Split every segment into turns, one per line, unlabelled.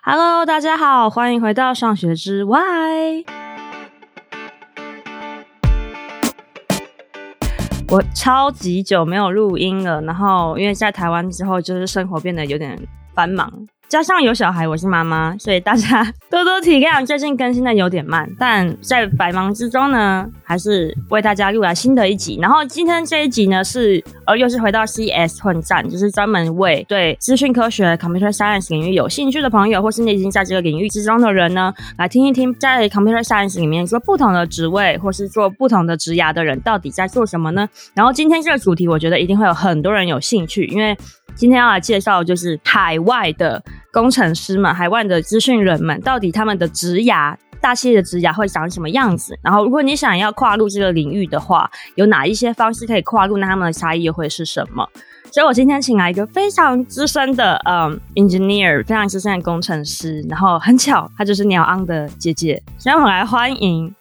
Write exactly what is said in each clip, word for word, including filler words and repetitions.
Hello， 大家好，歡迎回到上學之 Why。我超級久沒有錄音了，然後因為在台灣之後，就是生活變得有點繁忙。加上有小孩，我是媽媽，所以大家多多體諒，最近更新的有點慢，但在百忙之中呢，還是為大家錄來新的一集。然後今天這一集呢，是呃又是回到 C S 混戰，就是專門為對資訊科學 Computer Science 領域有興趣的朋友，或是你已經在這個領域之中的人呢，來聽一聽在 Computer Science 裡面做不同的職位，或是做不同的職涯的人到底在做什麼呢？然後今天這個主題，我覺得一定會有很多人有興趣，因為今天要來介紹就是海外的工程師們，海外的資訊人們，到底他們的職涯，大企業的職涯會長什麼樣子？然後如果你想要跨入這個領域的話，有哪一些方式可以跨入？那他們的差異又會是什麼？所以我今天請來一個非常資深的嗯 engineer， 非常資深的工程師，然後很巧，她就是鳥昂的姐姐，所以我們來歡迎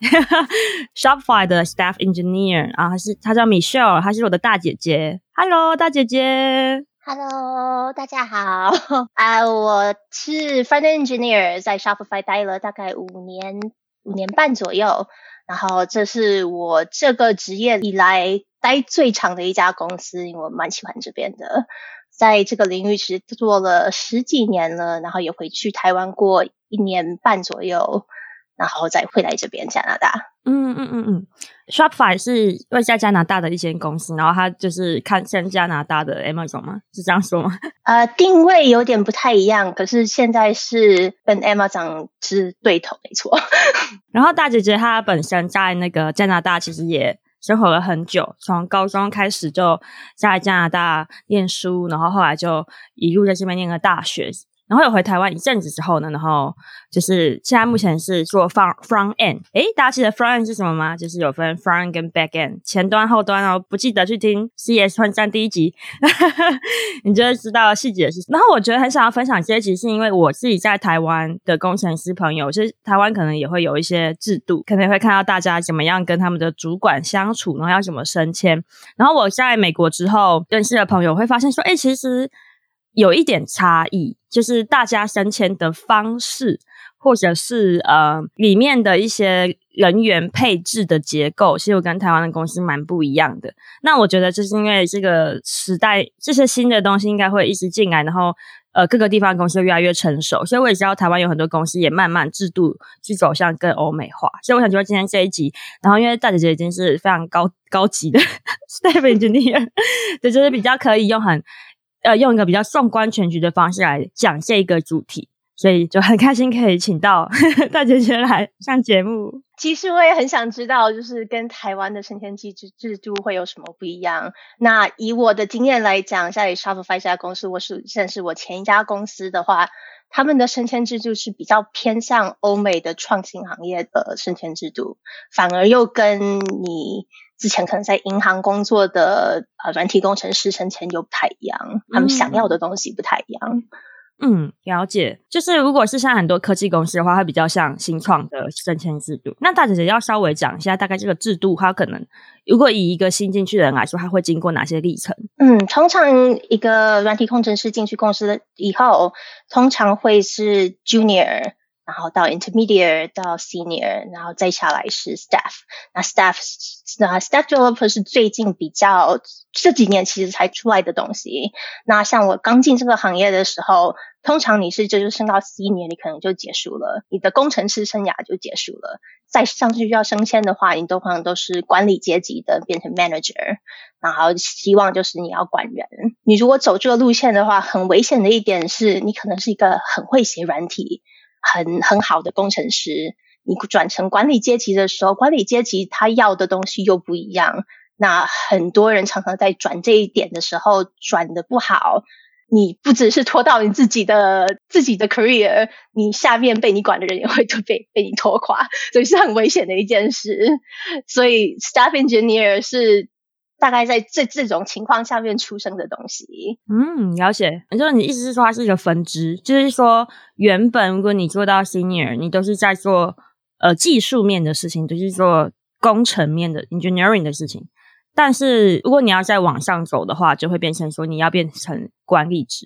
Shopify 的 staff engineer， 然後她是她叫 Michelle， 她是我的大姐姐。Hello， 大姐姐。
Hello， 大家好啊！ uh, 我是 Front-end Engineer， 在 Shopify 待了大概五年、五年半左右。然後這是我這個職業以來待最長的一家公司，因為我蠻喜歡這邊的。在這個領域其實做了十幾年了，然後也回去台灣過一年半左右，然後再回來這邊加拿大。
嗯嗯嗯嗯 ，Shopify 是位在加拿大的一間公司，然後它就是看像加拿大的 Amazon 嗎？是這樣說嗎？
呃，定位有點不太一樣，可是現在是跟 Amazon 是對頭，沒錯。
然後大姐姐她本身在那個加拿大其實也生活了很久，從高中開始就在加拿大念書，然後後來就一路在這邊念了大學。然後有回台灣一陣子之後呢，然後就是現在目前是做 front front end。誒，大家記得 front end 是什麼嗎？就是有分 front 跟 back end， 前端後端哦。不記得去聽 C S 混戰第一集，你就會知道細節是什麼。然後我覺得很想要分享這一集，是因為我自己在台灣的工程師朋友，其實台灣可能也會有一些制度，可能會看到大家怎麼樣跟他們的主管相處，然後要怎麼升遷。然後我在美國之後認識的朋友會發現說，誒，其實有一點差異，就是大家升遷的方式，或者是呃裡面的一些人員配置的結構，其實我跟台灣的公司蠻不一樣的。那我覺得就是因為這個時代，這些新的東西應該會一直進來，然後呃各個地方的公司越來越成熟，所以我也知道台灣有很多公司也慢慢制度去走向更歐美化。所以我想說今天這一集，然後因為大姐姐已經是非常高高級的 staff engineer， 對，就是比較可以用很呃，用一個比較縱觀全局的方式來講這一個主題，所以就很開心可以請到大姐姐來上節目。
其實我也很想知道，就是跟台灣的升遷機制制度會有什麼不一樣。那以我的經驗來講，在 Shopify 這家公司，我是甚至我前一家公司的話，他們的升遷制度是比較偏向歐美的創新行業的升遷制度，反而又跟你之前可能在銀行工作的呃軟體工程師升遷又不太一樣，他們想要的東西不太一樣。
嗯，了解。就是如果是像很多科技公司的話，會比較像新創的升遷制度。那大姐姐要稍微講一下，大概這個制度，它可能如果以一個新進去的人來說，它會經過哪些歷程？
嗯，通常一個軟體工程師進去公司以後，通常會是 Junior，然後到 Intermediate 到 Senior， 然後再下來是 Staff。那 Staff 那 Staff Developer 是最近比較這幾年其實才出來的東西。那像我剛進這個行業的時候，通常你是就是升到 Senior， 你可能就結束了，你的工程師生涯就結束了。再上去要升遷的話，你通常都是管理階級的，變成 Manager， 然後希望就是你要管人。你如果走這個路線的話，很危險的一點是你可能是一個很會寫軟體很很好的工程師，你轉成管理階級的時候，管理階級他要的東西又不一樣。那很多人常常在轉這一點的時候轉得不好，你不只是拖到你自己的自己的 career， 你下面被你管的人也會被被你拖垮，所以是很危險的一件事。所以 staff engineer 是大概在這這種情況下面出生的東西。
嗯，了解。就是你意思是說它是一個分支，就是說原本如果你做到 senior， 你都是在做呃技術面的事情，就是做工程面的 engineering 的事情。但是如果你要再往上走的話，就會變成說你要變成管理職。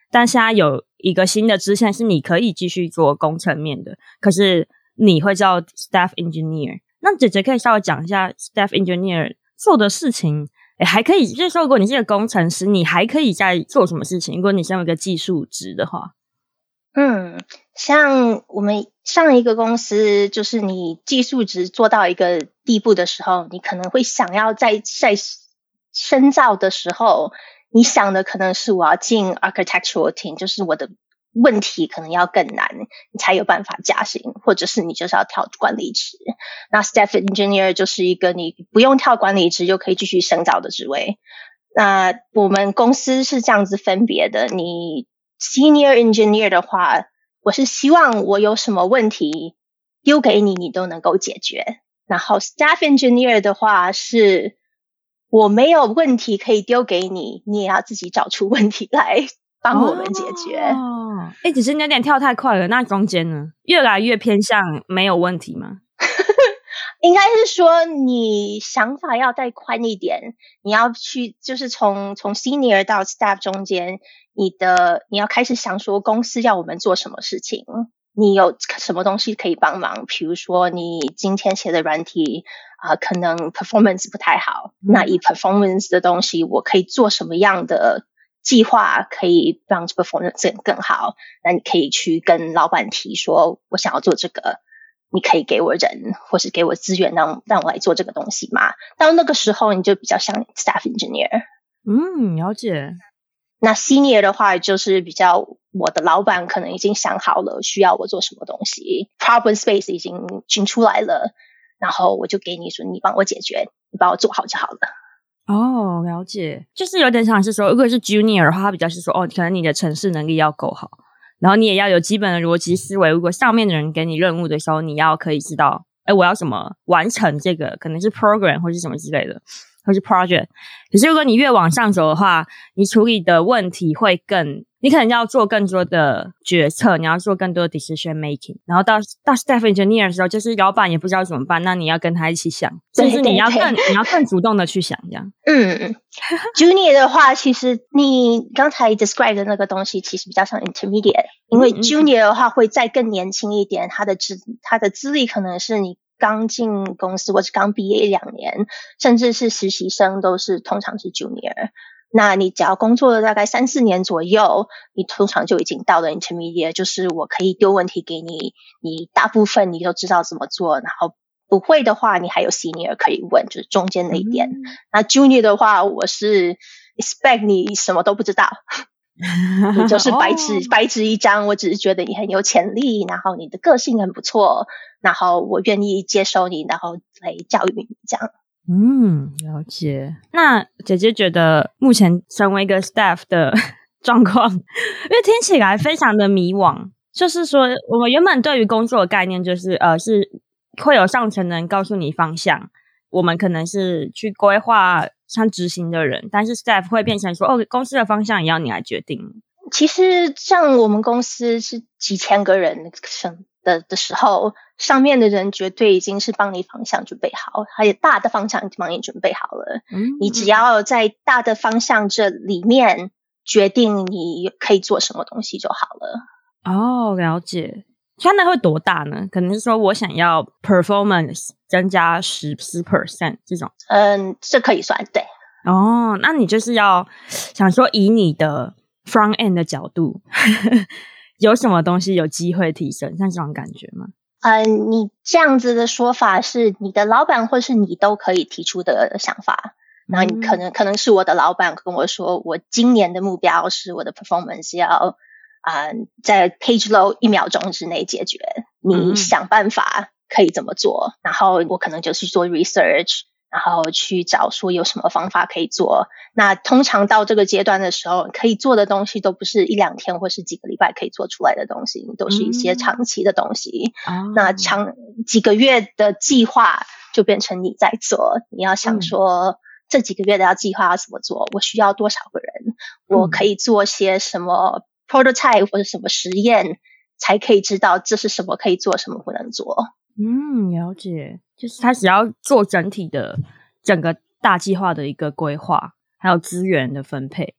但現在有一個新的支線是你可以繼續做工程面的，可是你會叫 staff engineer。那姐姐可以稍微講一下 staff engineer 做的事情，誒還可以，就是說如果你是一個工程師，你還可以在做什麼事情？如果你身為一個技術職的話。
嗯，像我們上一個公司，就是你技術職做到一個地步的時候，你可能會想要在在深造的時候，你想的可能是我要進 architectural team， 就是我的問題可能要更難，你才有辦法加薪，或者是你就是要跳管理職。那 staff engineer 就是一個你不用跳管理職就可以繼續深造的職位。那我們公司是這樣子分別的，你Senior engineer 的話，我是希望我有什麼問題丟給你，你都能夠解決。然後 staff engineer 的話，是我沒有問題可以丟給你，你也要自己找出問題來幫我們解決。
哦，誒只是你有點跳太快了，那中間呢？越來越偏向沒有問題嗎？
應該是說你想法要再寬一點，你要去就是從從 senior 到 staff 中間，你的你要開始想說公司要我們做什麼事情，你有什麼東西可以幫忙，比如說你今天寫的軟體啊、呃，可能 performance 不太好，嗯、那以 performance 的東西我可以做什麼樣的計劃可以讓 performance 更好，那你可以去跟老闆提說我想要做這個，你可以給我人或是給我資源讓讓我來做這個東西嗎？到那個時候你就比較像 staff engineer。
嗯，了解。
那 senior 的話就是比較我的老闆可能已經想好了需要我做什麼東西， problem space 已經尋出來了，然後我就給你說你幫我解決，你幫我做好就好了。
哦，了解。就是有點像是說如果是 junior 的話，他比較是說哦，可能你的程式能力要夠好，然後你也要有基本的邏輯思維，如果上面的人給你任務的時候，你要可以知道誒我要怎麼完成這個，可能是 program 或是什麼之類的，或是 project。可是如果你越往上走的話，你處理的問題會更，你可能要做更多的決策，你要做更多的 decision making。然後到到 staff engineer 的時候，就是老闆也不知道怎麼辦，那你要跟他一起想，就是你要更對對對你要更主動的去想這樣。嗯
，junior 的話，其實你剛才 describe 的那個東西，其實比較像 intermediate， 因為 junior 的話會再更年輕一點，他的資他的資歷可能是你剛進公司或者剛畢業一兩年，甚至是實習生都是通常是 junior。那你只要工作了大概三四年左右，你通常就已經到了 intermediate， 就是我可以丟問題給你，你大部分你都知道怎麼做，然後不會的話你還有 senior 可以問，就是中間那一點。嗯、那 junior 的話，我是 expect 你什麼都不知道。你就是白紙、哦、白紙一張，我只是覺得你很有潛力，然後你的個性很不錯，然後我願意接受你，然後來教育你這樣。
嗯，了解。那姐姐覺得目前成為一個 staff 的狀況，因為聽起來非常的迷惘，就是說我們原本對於工作的概念就是呃是會有上層人告訴你方向，我們可能是去規劃像執行的人，但是 staff 會變成說哦，公司的方向也要你來決定。
其實像我們公司是幾千個人的的時候，上面的人絕對已經是幫你方向準備好，還有大的方向已經幫你準備好了。嗯，你只要在大的方向這裡面決定你可以做什麼東西就好了。
哦，了解。現在會多大呢？可能是說我想要 performance 增加十十 percent 這種。嗯，
這可以算對。
哦，那你就是要想說以你的 front end 的角度有什麼東西有機會提升，像這種感覺嗎？
嗯，你這樣子的說法是你的老闆或是你都可以提出的想法。然後你可能、嗯、可能是我的老闆跟我說，我今年的目標是我的 performance 要啊、uh, 在 page load 一秒鐘之內解決，你想辦法可以怎麼做、嗯、然後我可能就去做 research， 然後去找說有什麼方法可以做。那通常到這個階段的時候，可以做的東西都不是一兩天或是幾個禮拜可以做出來的東西，都是一些長期的東西、嗯、那長幾個月的計劃就變成你在做，你要想說、嗯、這幾個月的要計劃要怎麼做，我需要多少個人、嗯、我可以做些什麼prototype 或者什麼實驗，才可以知道這是什麼可以做，什麼不能做。
嗯，了解，就是他只要做整體的整個大計劃的一個規劃，還有資源的分配。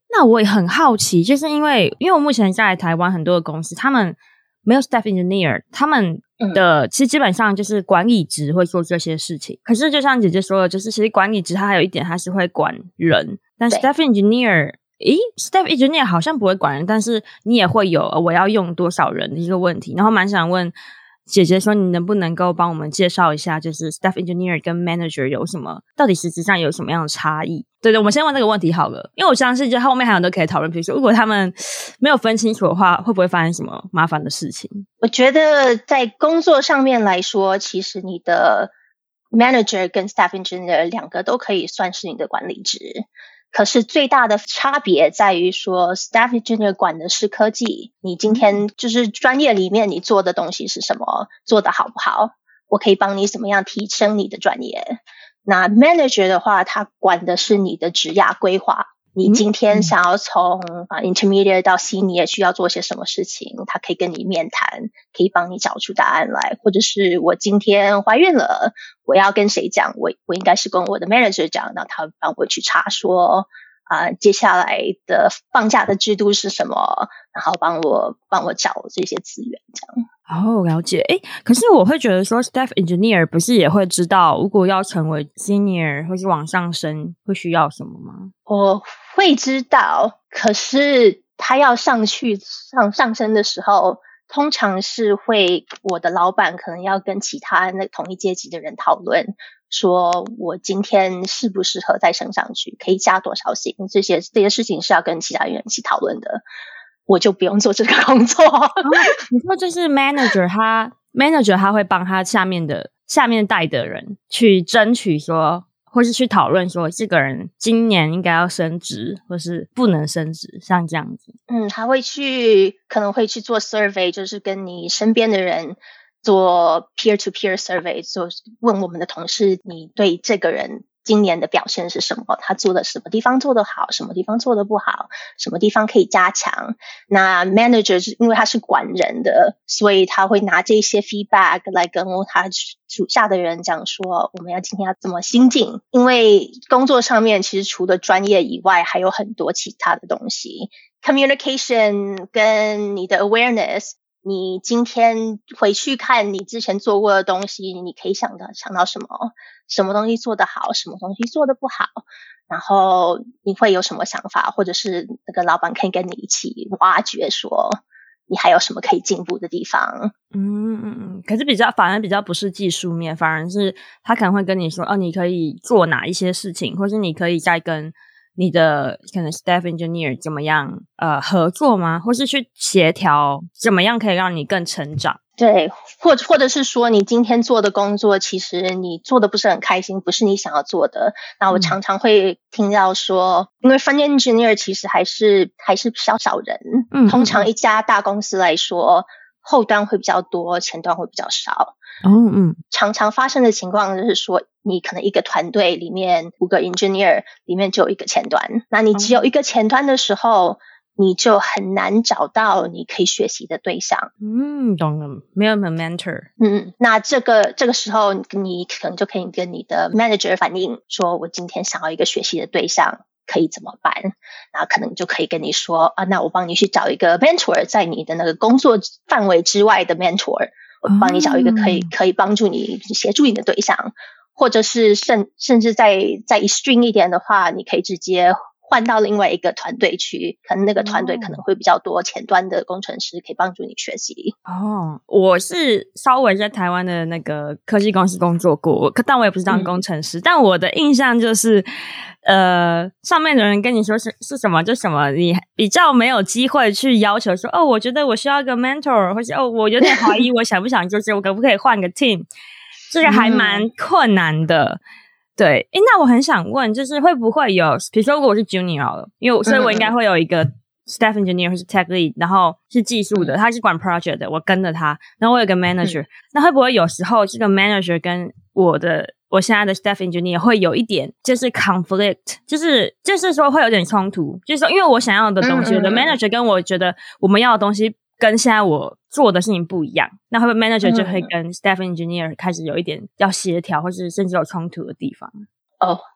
那我也很好奇，就是因為因為我目前在台灣很多的公司，他們沒有 staff engineer， 他們的、嗯、其實基本上就是管理職會做這些事情。可是就像姐姐說的，就是其實管理職它還有一點，它是會管人，但 staff engineer， 誒 staff engineer 好像不會管人，但是你也會有我要用多少人的一個問題。然後蠻想問姐姐說，你能不能夠幫我們介紹一下，就是 staff engineer 跟 manager 有什麼，到底實質上有什麼樣的差異？對對，我們先問這個問題好了，因為我相信就後面還有很多可以討論。比如說，如果他們沒有分清楚的話，會不會發生什麼麻煩的事情？
我覺得在工作上面來說，其實你的 manager 跟 staff engineer 兩個都可以算是你的管理職。可是最大的差別在於說 ，staff engineer 管的是科技，你今天就是專業裡面你做的東西是什麼，做得好不好，我可以幫你怎麼樣提升你的專業。那 manager 的話，他管的是你的職涯規劃，你今天想要從啊 intermediate 到 senior 需要做些什麼事情，他可以跟你面談，可以幫你找出答案來。或者是我今天懷孕了，我要跟誰講？我我應該是跟我的 manager 講，那他會幫我去查說啊、呃，接下來的放假的制度是什麼，然後幫我幫我找這些資源，這樣。
哦，了解。誒，可是我會覺得說 staff engineer 不是也會知道，如果要成為 senior 或是往上升，會需要什麼嗎？
我會知道，可是他要上去上上升的時候，通常是會我的老闆可能要跟其他那同一階級的人討論，說我今天適不適合再升上去，可以加多少薪，這些這些事情是要跟其他人一起討論的。我就不用做這個工作。哦，
你說就是 manager 他 manager 他會幫他下面的下面帶的人去爭取說，或是去討論說這個人今年應該要升職或是不能升職，像這樣子。
嗯，他會去可能會去做 survey， 就是跟你身邊的人做 peer to peer survey， 就問我們的同事，你對這個人今年的表現是什麼？他做的什麼地方做得好，什麼地方做得不好，什麼地方可以加強？那 manager 因為他是管人的，所以他會拿這些 feedback 來跟他屬下的人講說，我們要今天要怎麼精進？因為工作上面其實除了專業以外，還有很多其他的東西 ，communication 跟你的 awareness。你今天回去看你之前做過的東西，你可以想到想到什麼？什麼東西做得好，什麼東西做得不好？然後你會有什麼想法？或者是那個老闆可以跟你一起挖掘，說你還有什麼可以進步的地方？
嗯嗯嗯。可是比較反而比較不是技術面，反而是他可能會跟你說，哦，你可以做哪一些事情，或是你可以再跟你的可能 staff engineer 怎麼樣呃合作嗎？或是去協調怎麼樣可以讓你更成長？
對，或者或者是說你今天做的工作其實你做的不是很開心，不是你想要做的。那我常常會聽到說，嗯、因為 front engineer 其實還是還是比較少人，嗯，通常一家大公司來說，後端會比較多，前端會比較少。
嗯嗯，
常常發生的情況就是說，你可能一個團隊裡面五個 engineer 裡面就有一個前端，那你只有一個前端的時候，你就很難找到你可以學習的對象。
嗯，懂了，沒有 mentor。
嗯，那這個這個時候，你可能就可以跟你的 manager 反映說，我今天想要一個學習的對象，可以怎麼辦？然後可能就可以跟你說啊，那我幫你去找一個 mentor，在你的那個工作範圍之外的 mentor。我幫你找一個可以、oh. 可以幫助你協助你的對象，或者是甚甚至再再 extreme 一點的話，你可以直接換到另外一個團隊去，可能那個團隊可能會比較多前端的工程師可以幫助你學習。
哦，我是稍微在台灣的那個科技公司工作過，但我也不是當工程師，嗯、但我的印象就是呃，上面的人跟你說是是什麼就什麼，你比較沒有機會去要求說，哦，我覺得我需要一個 mentor， 或是哦，我有點懷疑我想不想就是我可不可以換個 team， 這個還蠻困難的。嗯對，誒，那我很想問，就是會不會有，比如說如果我是 junior 了，因為所以我應該會有一個 staff engineer 或是 tech lead，然後是技術的，他是管 project 的，我跟着他，然後我有個 manager，、嗯、那會不會有時候這個 manager 跟我的我現在的 staff engineer 會有一點就是 conflict， 就是就是說會有點衝突，就是說因為我想要的東西，我的 manager 跟我覺得我們要的東西跟現在我做的事情不一樣，那會不會 manager 就會跟 staff engineer 開始有一點要協調，或是甚至有衝突的地方？
哦，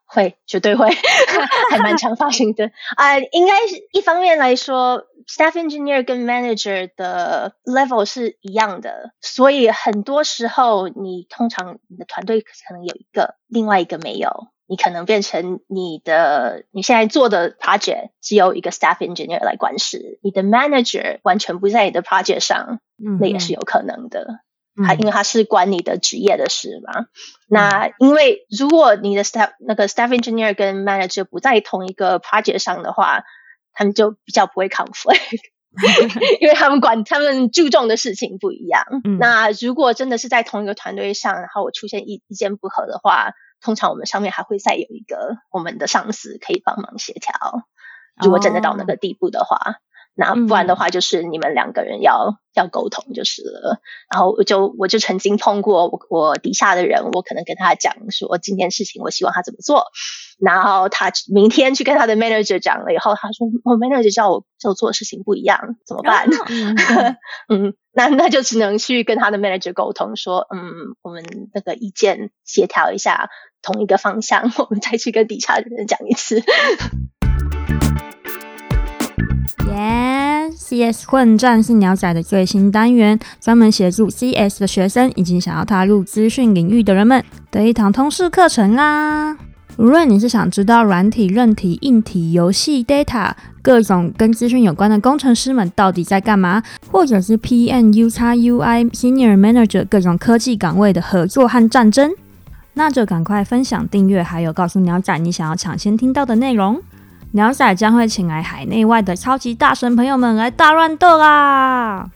會，絕對會，還蠻常發生的。啊、呃，應該是一方面來說 ，staff engineer 跟 manager 的 level 是一樣的，所以很多時候你通常你的團队可能有一個，另外一個沒有，你可能變成你的你現在做的 project 只有一個 staff engineer 來管事，你的 manager 完全不在你的 project 上，嗯、那也是有可能的。他因為他是管你的職業的事嘛，嗯、那因為如果你的 staff 那個 staff engineer 跟 manager 不在同一個 project 上的話，他們就比較不會 conflict， 因為他們管他們注重的事情不一樣。嗯、那如果真的是在同一個團隊上，然後我出現意意見不合的話，通常我們上面還會再有一個我們的上司可以幫忙協調。如果真的到那個地步的話。哦，那不然的話，就是你們兩個人要、嗯、要溝通就是了。然後我就我就曾經碰過我我底下的人，我可能跟他講說今天事情我希望他怎麼做，然後他明天去跟他的 manager 講了以後，他說我 manager 叫我叫我做的事情不一樣，怎麼辦？哦、嗯，那那就只能去跟他的 manager 溝通說，嗯，我們那個意見協調一下，同一個方向，我們再去跟底下的人講一次。
耶、yeah, ，C S 混戰是鳥仔的最新單元，專門協助 C S 的學生以及想要踏入資訊領域的人們的一堂通識課程啦。無論你是想知道軟體、韌體、硬體、遊戲、data 各種跟資訊有關的工程師們到底在幹嘛，或者是 P M、U X、U I、Senior Manager 各種科技崗位的合作和戰爭，那就趕快分享、訂閱，還有告訴鳥仔你想要搶先聽到的內容。鳥仔將會請來海內外的超級大神朋友們來大亂鬥啦！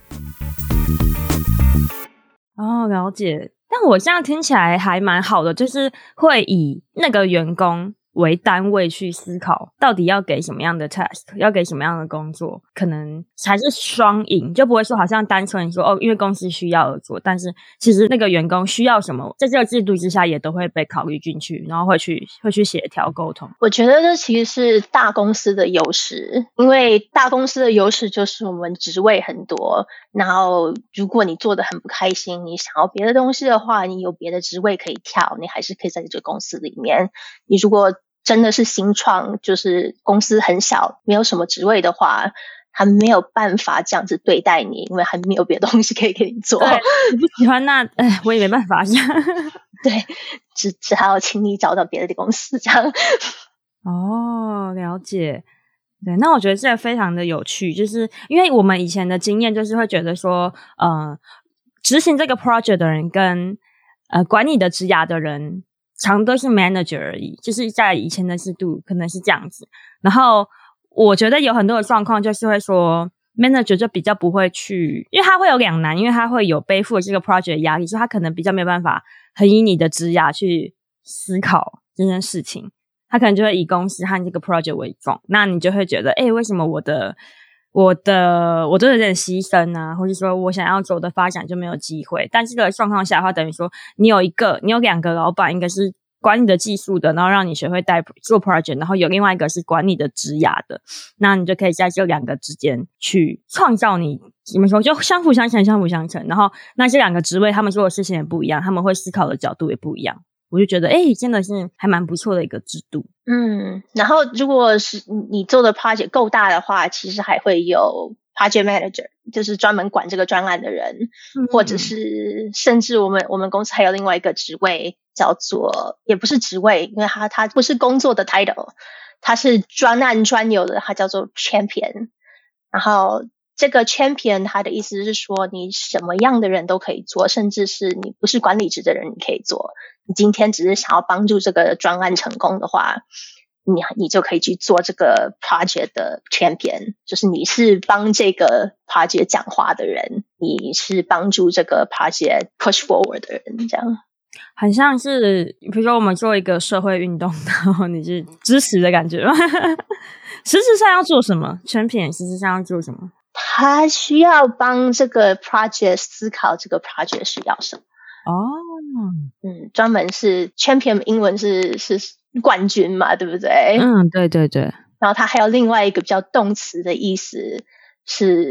哦，了解。但我這樣聽起來還蠻好的，就是會以那個員工為單位去思考，到底要給什麼樣的 task， 要給什麼樣的工作，可能才是雙贏，就不會說好像單純說哦，因為公司需要而做，但是其實那個員工需要什麼，在這個制度之下也都會被考慮進去，然後會去會去協調溝通。
我覺得這其實是大公司的優勢，因為大公司的優勢就是我們職位很多，然後如果你做得很不開心，你想要別的東西的話，你有別的職位可以跳，你還是可以在這個公司裡面。你如果真的是新創，就是公司很小，沒有什麼職位的話，他沒有辦法這樣子對待你，因為還沒有別的東西可以給你做。
對，你不喜歡那，哎，我也沒辦法。
對，只只好請你找到別的公司這樣。
哦，了解。對，那我覺得這個非常的有趣，就是因為我們以前的經驗就是會覺得說，呃，執行這個 project 的人跟呃管你的職涯的人，常都是 manager 而已，就是在以前的制度可能是這樣子。然後我覺得有很多的狀況就是會說 manager 就比較不會去，因為他會有兩難，因為他會有背負這個 project 的壓力，所以他可能比較沒有辦法很以你的職涯去思考這件事情，他可能就會以公司和這個 project 為重。那你就會覺得，誒，為什麼我的我的我都有點犧牲啊，或者說我想要走的發展就沒有機會。但這個狀況下的話，等於說你有一個你有兩個老闆，一個是管你的技術的，然後讓你學會帶做 project， 然後有另外一個是管你的職涯的，那你就可以在這兩個之間去創造你怎麼說，就相輔相成相輔相成。然後那這兩個職位他們做的事情也不一樣，他們會思考的角度也不一樣。我就覺得誒真的是還蠻不錯的一個制度。
嗯，然後如果是你做的 project 夠大的話，其實還會有 project manager， 就是專門管這個專案的人，嗯、或者是甚至我們我們公司還有另外一個職位叫做，也不是職位，因為他他不是工作的 title， 他是專案專有的，他叫做 champion。然後這個 champion 他的意思是說，你什麼樣的人都可以做，甚至是你不是管理職的人你可以做。你今天只是想要幫助這個專案成功的話，你你就可以去做這個 project 的 champion， 就是你是幫這個 project 講話的人，你是幫助這個 project push forward 的人，這樣。
很像是比如說我們做一個社會運動，然後你是支持的感覺嗎？實質上要做什麼 champion 實質上要做什麼？
他需要幫這個 project 思考這個 project 需要什麼。
哦，
嗯，專門是 champion， 英文是是冠軍嘛，對不對？
嗯，對對對。
然後它還有另外一個比較動詞的意思是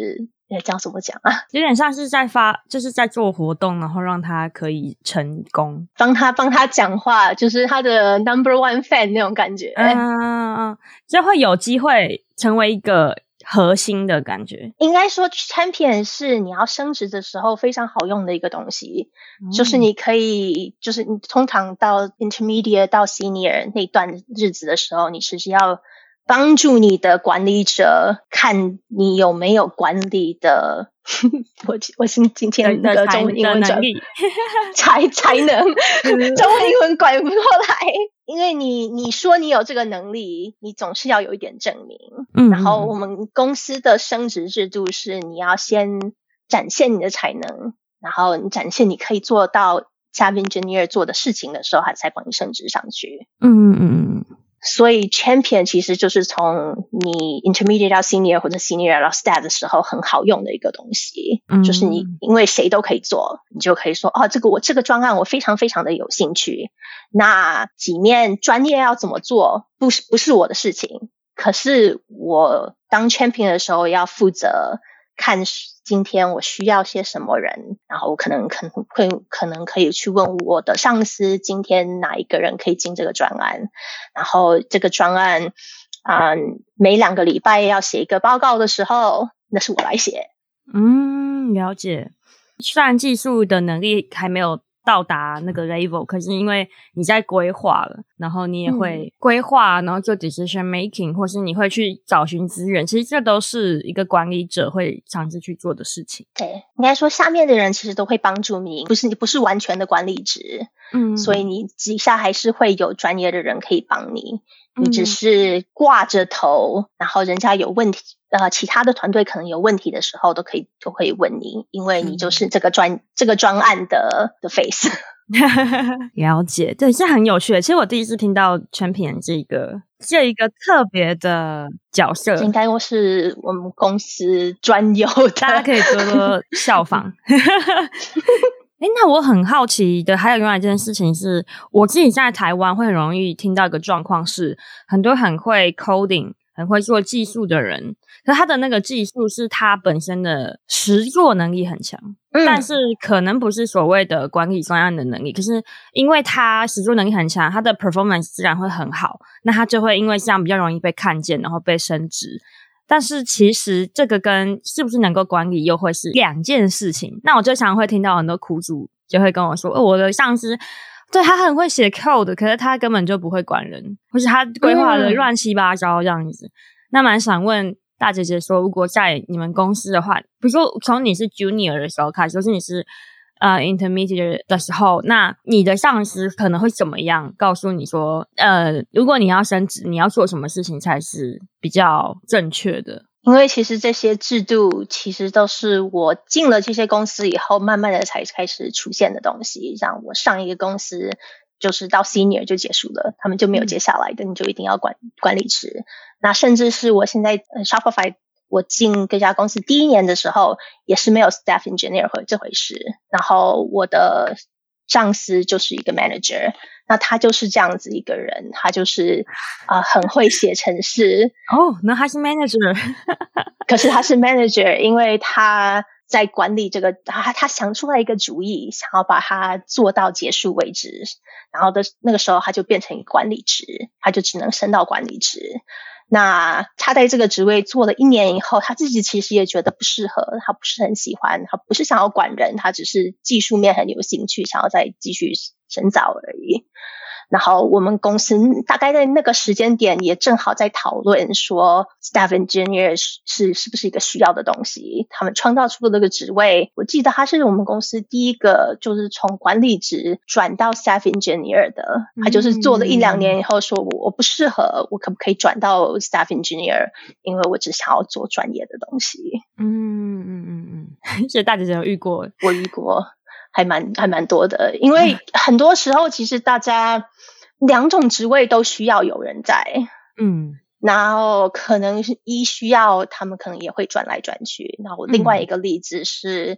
那這樣怎麼講啊？
有點像是在發，就是在做活動，然後讓他可以成功，
幫他幫他講話，就是他的 number one fan 那種感覺。
嗯嗯嗯，就會有機會成為一個核心的感覺。
應該說 champion 是你要升職的時候非常好用的一個東西，嗯、就是你可以，就是你通常到 intermediate 到 senior 那段日子的時候，你是要幫助你的管理者看你有沒有管理的，我我今今天那個中文英文轉才才能中文英文拐不過來，因為你你說你有這個能力，你總是要有一點證明。嗯，然後我們公司的升職制度是你要先展現你的才能，然後你展現你可以做到 staff engineer 做的事情的時候，他才幫你升職上去。嗯嗯嗯。所以 champion 其實就是從你 intermediate 到 senior 或者 senior 到 staff 的時候很好用的一個東西，嗯、就是你因為誰都可以做，你就可以說哦，這個我這個專案我非常非常的有興趣。那裡面專業要怎麼做，不是不是我的事情，可是我當 champion 的時候要負責看今天我需要些什麼人，然後我可能可能會可能可以去問我的上司，今天哪一個人可以進這個專案，然後這個專案啊、嗯，每兩個禮拜要寫一個報告的時候，那是我來寫。嗯，
了解。雖然技術的能力還沒有到達那個 level， 可是因為你在規劃了，然後你也會規劃，然後做 decision making， 或是你會去找尋資源，其實這都是一個管理者會嘗試去做的事情。
對，應該說下面的人其實都會幫助你，不是你不是完全的管理職，嗯，所以你底下還是會有專業的人可以幫你，你只是掛着頭，然後人家有問題，呃，其他的團隊可能有問題的時候，都可以都可以問你，因為你就是這個專、嗯、這個專案的的 face。
了解，對，是很有趣的。其實我第一次聽到 champion 這個這一個特別的角色，
應該說是我們公司專有的，
大家可以多多效仿。誒，那我很好奇的還有另外一件事情是，我自己在台灣會很容易聽到一個狀況是，很多很會 coding 很會做技術的人，可是他的那個技術是他本身的實作能力很強，嗯，但是可能不是所謂的管理專案的能力，可是因為他實作能力很強，他的 performance 自然會很好，那他就會因為這樣比較容易被看見，然後被升職。但是其實這個跟是不是能夠管理又會是兩件事情。那我就常會聽到很多苦主就會跟我說，哦，我的上司對他很會寫 code， 可是他根本就不會管人，或是他規劃的亂七八糟這樣子。嗯、那蠻想問大姐姐說，如果在你們公司的話，比如說從你是 junior 的時候開始，就是你是呃 intermediate 的時候，那你的上司可能會怎麼樣告訴你說，呃，如果你要升職，你要做什麼事情才是比較正確的？
因為其實這些制度其實都是我進了這些公司以後，慢慢的才開始出現的東西。像我上一個公司，就是到 senior 就結束了，他們就沒有接下來的，你就一定要管管理職。那甚至是我現在 Shopify，我進這家公司第一年的時候，也是沒有 staff engineer 這回事。然後我的上司就是一個 manager， 那他就是這樣子一個人，他就是啊、呃、很會寫程式。
哦，那他是 manager，
可是他是 manager， 因為他在管理這個，他他想出來一個主意，想要把它做到結束為止。然後的那個時候，他就變成一個管理職，他就只能升到管理職。那他在這個職位做了一年以後，他自己其實也覺得不適合，他不是很喜歡，他不是想要管人，他只是技術面很有興趣，想要再繼續深造而已。然後我們公司大概在那個時間點也正好在討論說 staff engineer 是是不是一個需要的東西，他們創造出了這個職位。我記得他是我們公司第一個就是從管理職轉到 staff engineer 的，他就是做了一兩年以後說我我不適合，我可不可以轉到 staff engineer， 因為我只想要做專業的東西。嗯
嗯嗯嗯，所以大姐姐有遇過？
我遇過，還蠻還蠻多的，因為很多時候其實大家兩種職位都需要有人在，嗯，然後可能是一需要，他們可能也會轉來轉去。然後另外一個例子是，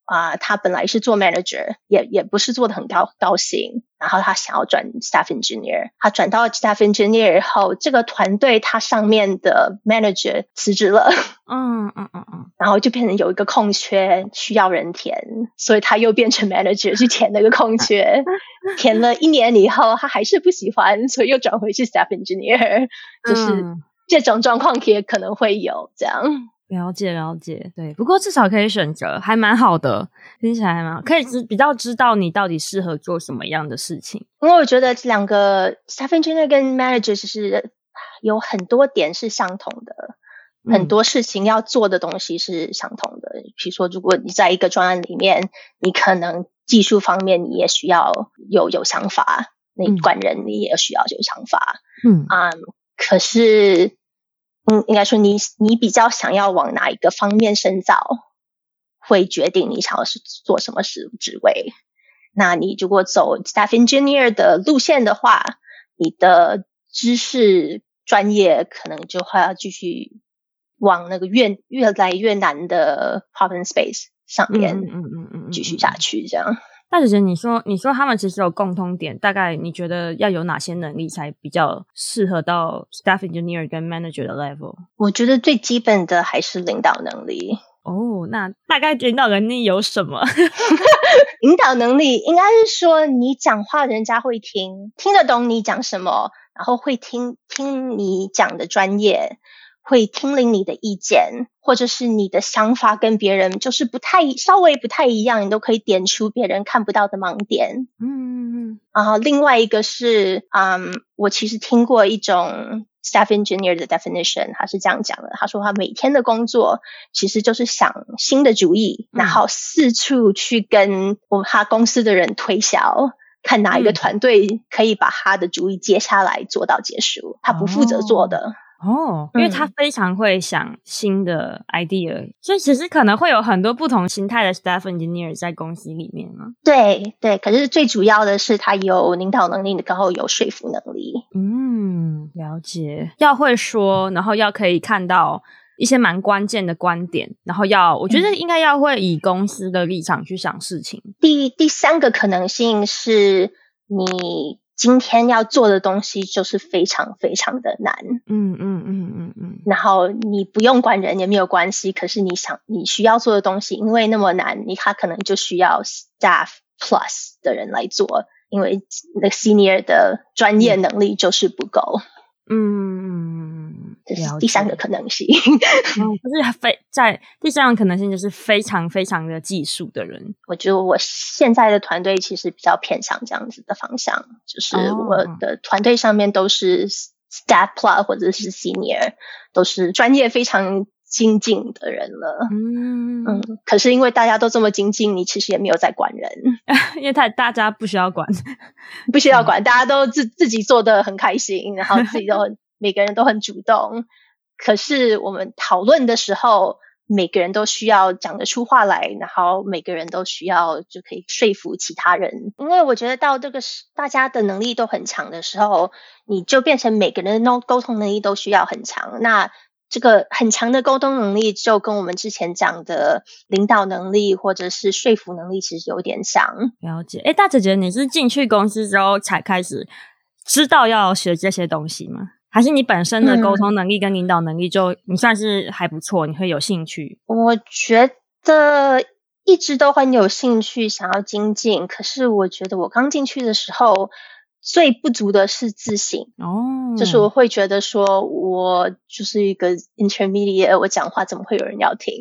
啊、呃，他本來是做 manager， 也也不是做得很高高興，然後他想要轉 staff engineer， 他轉到 staff engineer 以後，這個團隊他上面的 manager 辭職了，
嗯嗯嗯嗯，
然後就變成有一個空缺需要人填，所以他又變成 manager 去填那個空缺，填了一年以後，他還是不喜歡，所以又轉回去 staff engineer， 就是這種狀況也可能會有這樣。
了解了解，對，不過至少可以選擇，還蠻好的，聽起來還蠻好，可以知比較知道你到底適合做什麼樣的事情。
因為我覺得這兩個 staff engineer 跟 manager 是有很多點是相同的，嗯、很多事情要做的東西是相同的。比如說，如果你在一個專案裡面，你可能技術方面你也需要有有想法，你管人你也需要有想法，嗯啊、嗯，可是。嗯，應該說你你比較想要往哪一個方面深造，會決定你想要是做什麼職職位。那你如果走 staff engineer 的路線的話，你的知識專業可能就會要繼續往那個越越來越難的 problem space 上面，嗯嗯嗯，繼續下去這樣。
大姐姐，你說你說他們其實有共通點，大概你覺得要有哪些能力才比較適合到 staff engineer 跟 manager 的 level？
我覺得最基本的還是領導能力。
哦，那大概領導能力有什麼？
領導能力應該是說你講話人家會聽，聽得懂你講什麼，然後會聽聽你講的專業，會聽領你的意見，或者是你的想法跟別人就是不太稍微不太一樣，你都可以點出別人看不到的盲點。嗯嗯嗯。然後另外一個是，嗯，我其實聽過一種 staff engineer 的 definition， 他是這樣講的，他說他每天的工作其實就是想新的主意，嗯、然後四處去跟我他公司的人推銷，看哪一個團隊可以把他的主意接下來做到結束，他不負責做的。哦
哦，因為他非常會想新的 idea，、嗯、所以其實可能會有很多不同形態的 staff engineer 在公司裡面嘛。對
對，可是最主要的是他有領導能力，然後有說服能力。
嗯，了解。要會說，然後要可以看到一些蠻關鍵的觀點，然後要，我覺得應該要會以公司的立場去想事情。
嗯、第第三個可能性是你今天要做的東西就是非常非常的難，嗯嗯嗯嗯嗯，然後你不用管人也沒有關係，可是你想你需要做的東西，因為那麼難，你他可能就需要 staff plus 的人來做，因為那個 senior 的專業能力就是不夠。嗯，這是第三個可能性。
嗯，就是非在第三個可能性就是非常非常的技術的人。
我覺得我現在的團隊其實比較偏向這樣子的方向，就是我的團隊上面都是 staff plus 或者是 senior， 都是專業非常精進的人了。嗯嗯，可是因為大家都這麼精進，你其實也沒有在管人，
因為他大家不需要管，
不需要管，大家都自自己做得很開心，然後自己都很每個人都很主動。可是我們討論的時候，每個人都需要講得出話來，然後每個人都需要就可以說服其他人。因為我覺得到這個大家的能力都很強的時候，你就變成每個人的溝通能力都需要很強。那這個很強的溝通能力就跟我們之前講的領導能力或者是說服能力其實有點像。
了解。誒，大姐姐，你是進去公司之後才開始知道要學這些東西嗎？還是你本身的溝通能力跟領導能力就、嗯、你算是還不錯，你會有興趣？
我覺得一直都很有興趣想要精進，可是我覺得我剛進去的時候最不足的是自信哦，就是我會覺得說我就是一個 intermediate， 我講話怎麼會有人要聽？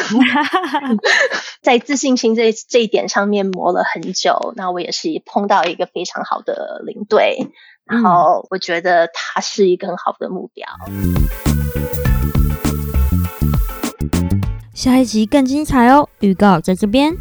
在自信心這這一點上面磨了很久，那我也是碰到一個非常好的領隊，然後我覺得他是一個很好的目標。
下一集更精彩哦，預告在這邊。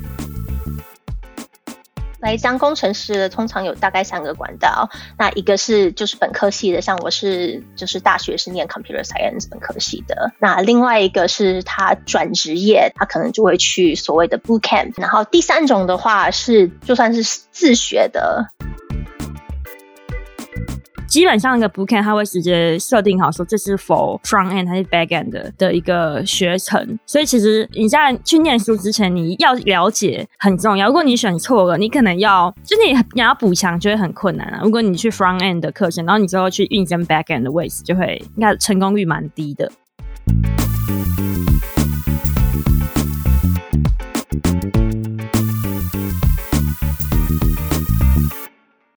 來當工程師的通常有大概三個管道，那一個是就是本科系的，像我是就是大學是念 computer science 本科系的，那另外一個是他轉職業，他可能就會去所謂的 boot camp， 然後第三種的話是就算是自學的。
基本上一個 bootcamp 它會直接設定好說這是 for front end 還是 back end 的的一個學程，所以其實你在去念書之前，你要了解很重要。如果你選錯了，你可能要就你你要補強就會很困難啊。如果你去 front end 的課程，然後你之後去應徵 back end 的位置，就會應該成功率蠻低的。